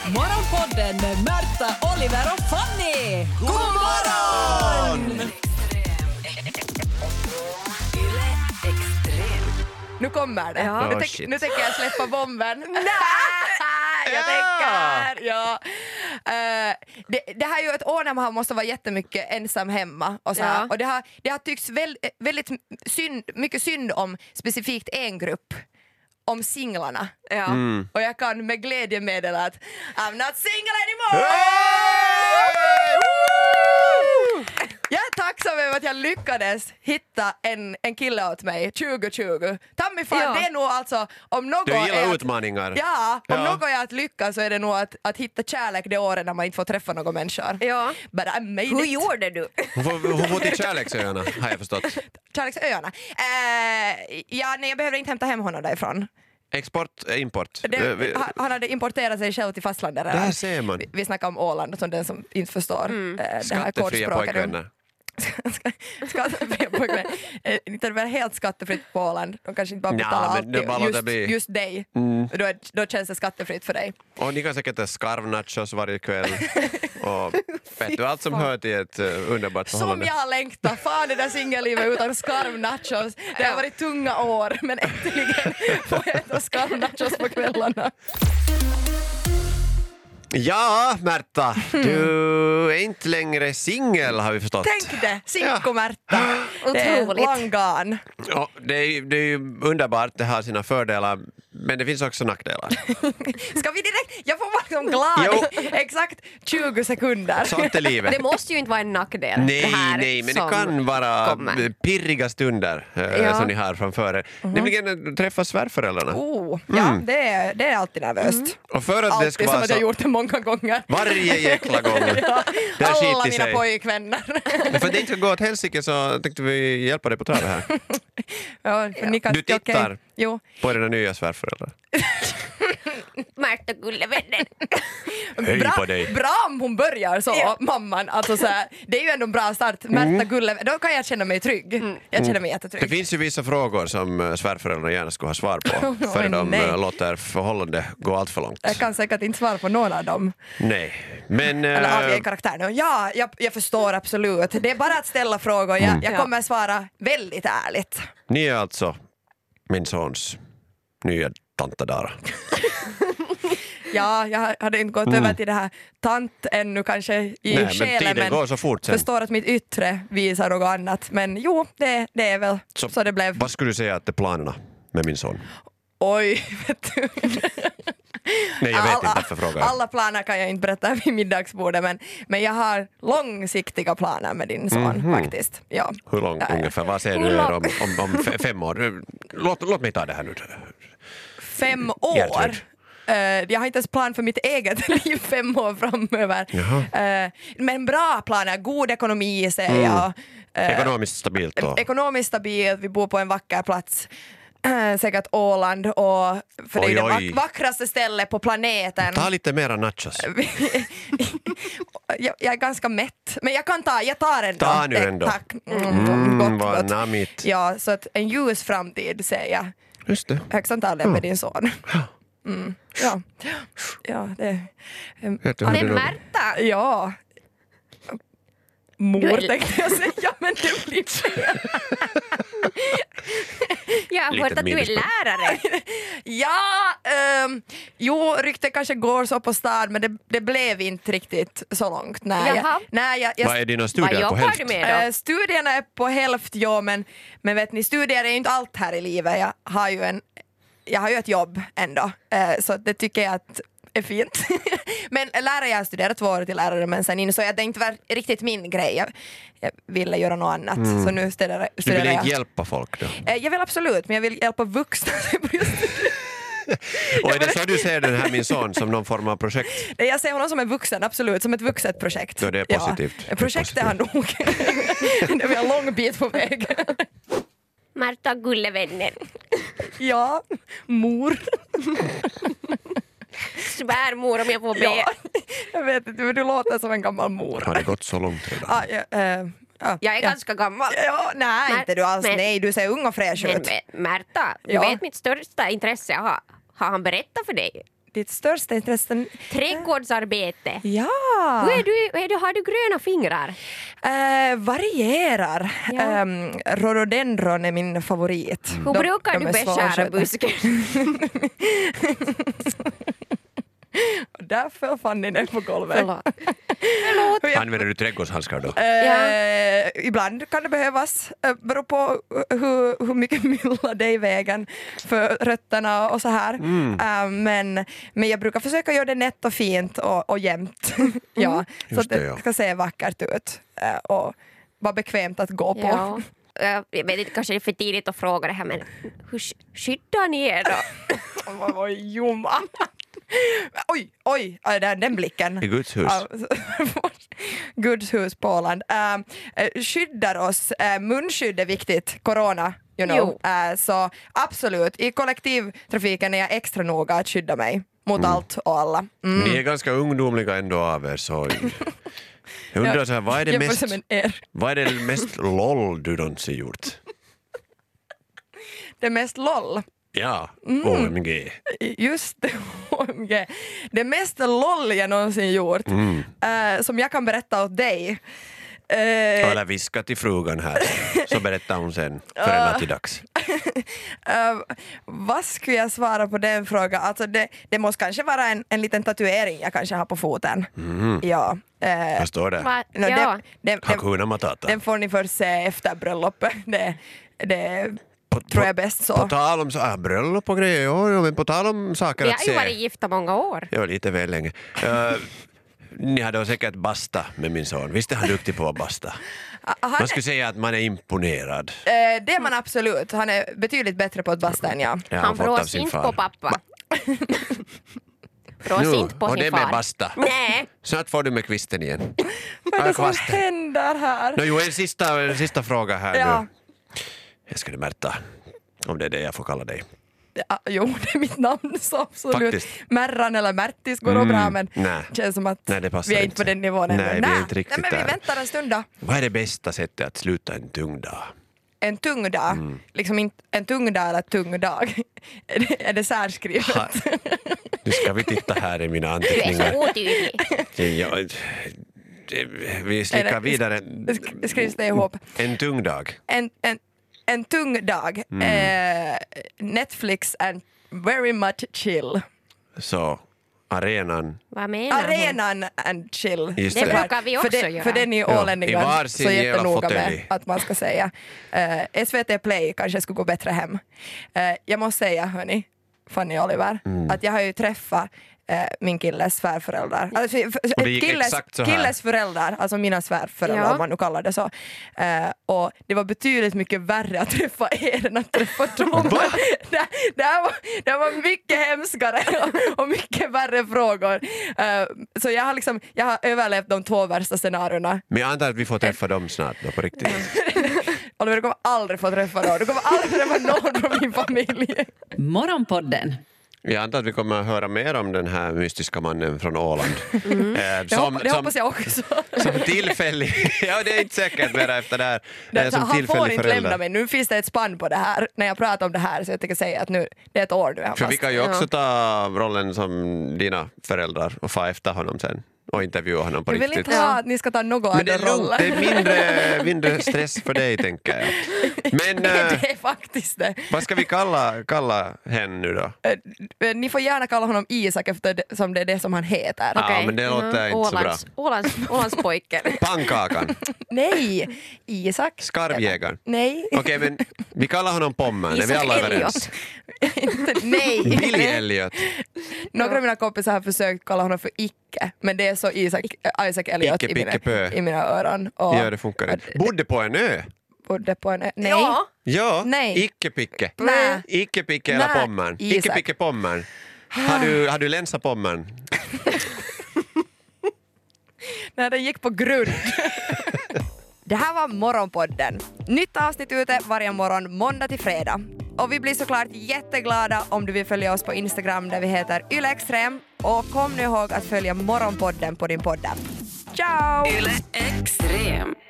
Morgonpodden med Märta, Oliver och Fanny! God morgon! Nu kommer det. Ja. Nu tänker jag släppa bomben. Jag tänker. Ja. Det här är ju ett år när man måste vara jättemycket ensam hemma. Och, så här. Och det har tyckts väldigt mycket synd om specifikt en grupp. Om singlarna. Ja. Och jag kan med glädje meddela att I'm not single anymore! Jag är tacksam över att jag lyckades hitta en kille åt mig 2020. Tammy fan, det är nog alltså om något Du gillar är utmaningar. om något är att lyckas så är det nog att hitta kärlek det året när man inte får träffa några människor. Ja. But I made Hur it. gjorde du? Hon får till Kärleksöarna, har jag förstått. Kärleksöarna. Nej, jag behöver inte hämta hem honom därifrån. Export, import. Han hade importerat sig själv till fastlandet. Där ser man. Vi snackar om Åland som den som inte förstår det här Skattefria kodspråket. pojkvänner. Skattefria pojkvänner. Inte det väl helt skattefritt på Åland. De kanske inte bara betalar allt just dig. Då känns det skattefritt för dig. Och ni kan säkert äta skarvnachos varje kväll. Och vet du, allt som hör till ett underbart förhållande. Som jag längtar. Fan det där singellivet utan skarvnachos. Det har varit tunga år men äntligen får jag äta skarvnachos på kvällarna. Ja, Märta, du är inte längre singel har vi förstått. Tänk det, Sinko-Märta. Det är Otroligt. long gone. Ja, det är ju underbart, det har sina fördelar, men det finns också nackdelar. Ska vi direkt? Jag får vara liksom glad i exakt 20 sekunder. Sånt är livet. Det måste ju inte vara en nackdel. Nej, men det kan vara pirriga stunder som ni har framför er. Nämligen träffa svärföräldrarna. Ja, det är alltid nervöst. Och för att det ska Alltid som vara att jag så gjort det många gånger. varje jäkla gång. Där Alla skiter mina sig. pojkvänner. Men för att det inte ska gå åt helsike så tänkte vi hjälpa dig på travet här. Ni kan, Du tittar okej. Jo. på dina nya svärföräldrar. Märta gullevänner. Hej på dig. Bra om hon börjar så, mamman. Alltså, så här, det är ju ändå en bra start. Märta Gulle, då kan jag känna mig trygg. Jag känner mig jättetrygg. Det finns ju vissa frågor som svärföräldrarna gärna skulle ha svar på för de nej. låter förhållande gå allt för långt. Jag kan säkert inte svara på någon av dem. Nej, men... Eller avge en karaktär nu. Ja, jag förstår absolut. Det är bara att ställa frågor. Jag kommer svara väldigt ärligt. Ni är alltså min sons nya tante Dara. Ja, jag hade inte gått över till det här tant ännu kanske i Nej, själen. men tiden går så fort sen. Förstår att mitt yttre visar något annat. Men jo, det är väl så det blev. Vad skulle du säga att det är planerna med min son? Oj, vet du. Nej, jag vet inte varför frågar. Alla planer kan jag inte berätta vid middagsbordet men jag har långsiktiga planer med din son faktiskt. Ja. Hur långt ungefär? Vad säger du om 5 år? Låt mig ta det här nu. 5 år? Gertrud. Jag har inte ens plan för mitt eget liv 5 år framöver. Men bra planer, god ekonomi säger jag. Ekonomiskt stabilt då? Ekonomiskt stabilt, vi bor på en vacker plats. Säkert Åland och för det är det vackraste stället på planeten. Ta lite mera nachos. jag är ganska mätt, men jag tar ändå. Ta nu ändå. Tack. Vad namigt. Ja, så att en ljus framtid säger jag. Just det. Högst antagligen med din son. Ja, det... Men Märta, Ja. Mor tänkte jag säga, men det blir fel. jag har hört att du är lärare. Jo, ryktet kanske går så på stad, men det blev inte riktigt så långt. Vad är dina studier på jobbar hälft? du med då? Studierna är på hälft, men vet ni, studier är ju inte allt här i livet. Jag har ju ett jobb ändå, så det tycker jag att är fint. Men lärare, jag har studerat 2 år till lärare, men sen insåg jag att det inte var riktigt min grej. Jag ville göra något annat. Så nu studerar Du vill jag. inte hjälpa folk då? Jag vill absolut, men jag vill hjälpa vuxna. Och är det så du ser den här min son som någon form av projekt? Jag ser honom som en vuxen, absolut, som ett vuxet projekt. Då det är positivt. Ja. Projekt är han nog. Det är en lång bit på väg. Märta gullevänner. Ja, mor. Svärmor om jag får be. Ja, jag vet inte, men du låter som en gammal mor. Har det gått så långt redan? Jag är ganska gammal. Ja, nej, inte du alls. Men- Nej, du ser ung och fräsch ut. Men Märta, du Ja. vet mitt största intresse. Har han berättat för dig? ditt största intresse? Trädgårdsarbete. Ja. Har du gröna fingrar? Varierar. Ja. Rhododendron är min favorit. Hur brukar du är svåra att beskära sköta. busken? Där föll Fanny ner på golvet. Förlåt. Använder du trädgårdshandskar då? Ibland kan det behövas. Beror på hur mycket mylla det är i vägen för rötterna och så här. Men jag brukar försöka göra det nätt och fint och jämnt. Ja, så att det ska se vackert ut och vara bekvämt att gå på. Ja. Jag vet inte, kanske det är för tidigt att fråga det här, men hur skyddar ni er då? Oj, Jomma. Oj, den blicken. I Guds hus. Guds hus på Åland. Skyddar oss. Munskydd är viktigt. Corona, you know. Så absolut, i kollektivtrafiken är jag extra noga att skydda mig mot allt och alla. Ni är ganska ungdomliga ändå av er, så jag undrar så här, vad är det mest LOL du någonsin gjort? Det mest LOL. Ja, OMG. Just det, OMG. Det mest LOL jag någonsin gjort, som jag kan berätta åt dig. Eller viska till frugan här, så berättar hon sen för en nattidags. Vad skulle jag svara på den frågan? Alltså det måste kanske vara en liten tatuering jag kanske har på foten. Ja. Vad står det? Hakuna Matata. Den får ni först se efter bröllopet. Det tror jag bäst så. På tal om bröllop och grejer, ja, men på tal om saker Vi att har se. ju varit gifta många år. Ja, lite väl länge. Ni hade säkert basta med min son. Visst är han duktig på att basta? Man skulle säga att man är imponerad. Det är man absolut. Han är betydligt bättre på att basta än jag. Ja, Han brås inte på pappa. Brås inte på och sin det far. med basta. Nej. Snart får du med kvisten igen. Vad är det som händer här? En sista fråga här Ja. nu. Jag skulle Märta, om det är det jag får kalla dig. Ja, jo, det är mitt namn så absolut. Faktiskt. Märran eller Märtis går bra, men nej. det känns som att Nej, det vi är inte på den nivån ännu. Nej, vi är inte riktigt men vi där. väntar en stund då. Vad är det bästa sättet att sluta en tung dag? En tung dag, liksom inte en tung dag eller tung dag. Är det särskrivet? Nu ska vi titta här i mina Du är anteckningar. så otydlig. Vi slickar vidare. Skrivs det ihop? En tung dag. En tung dag. Netflix and very much chill. Så arenan. Vad menar hon? Arenan and chill. Just Det det. brukar vi också göra. För det är ni I ålänningar varsin så jävla jättenoga fåtölj. med att man ska säga. SVT Play kanske skulle gå bättre hem. Jag måste säga, hörni, Fanny och Oliver, att jag har ju träffat min killes svärföräldrar. Alltså, Och det gick exakt så här. killes föräldrar, alltså mina svärföräldrar Ja. om man nu kallar det så. Och det var betydligt mycket värre att träffa er än att träffa dem. det var mycket hemskare och mycket värre frågor. Så jag har överlevt de 2 värsta scenarierna. Men jag antar att vi får träffa dem snart då, på riktigt. Oliver, du kommer aldrig få träffa någon. Du kommer aldrig träffa någon från min familj. Morgonpodden. Jag antar att vi kommer att höra mer om den här mystiska mannen från Åland. Det hoppas jag också. Som tillfällig, ja det är inte säkert mer efter det här. Som Han får tillfällig inte lämna mig. Nu finns det ett spann på det här. När jag pratar om det här så jag tänker säga att nu, det är ett år nu. För vi kan ju också ta rollen som dina föräldrar och få efter honom sen och intervjua honom på Jag vill riktigt. inte ha att ni ska ta någon Men det annan är roll. lugnt, det är mindre stress för dig tänker jag. Men Det är faktiskt det. vad ska vi kalla henne nu då? Ni får gärna kalla honom Isak som det är det som han heter. Ja, Okej. men det låter inte så bra. Ålandspojken. Pannkakan, Nej, Isak. skarvjägaren. Nej. Okej, men vi kallar honom Pommern, är vi Isak alla Elliot. överens? Nej. Billy Elliot. Några av mina kompisar har försökt kalla honom för Icke, men det är så Isaac Elliot Icke, picke, pö. i mina öron. Och Ja, det funkar inte. Bodde på en ö? bodde på en... Nej. Ja. Ja, Nej. Icke-picke. Nej. Icke-picke eller Nej, Pommern. Isak. Icke-picke Pommern. Har du länsat Pommern? När den gick på grund. Det här var Morgonpodden. Nytt avsnitt ute varje morgon måndag till fredag. Och vi blir såklart jätteglada om du vill följa oss på Instagram där vi heter ylextrem. Och kom nu ihåg att följa Morgonpodden på din podd. Ciao! Yle Extrem.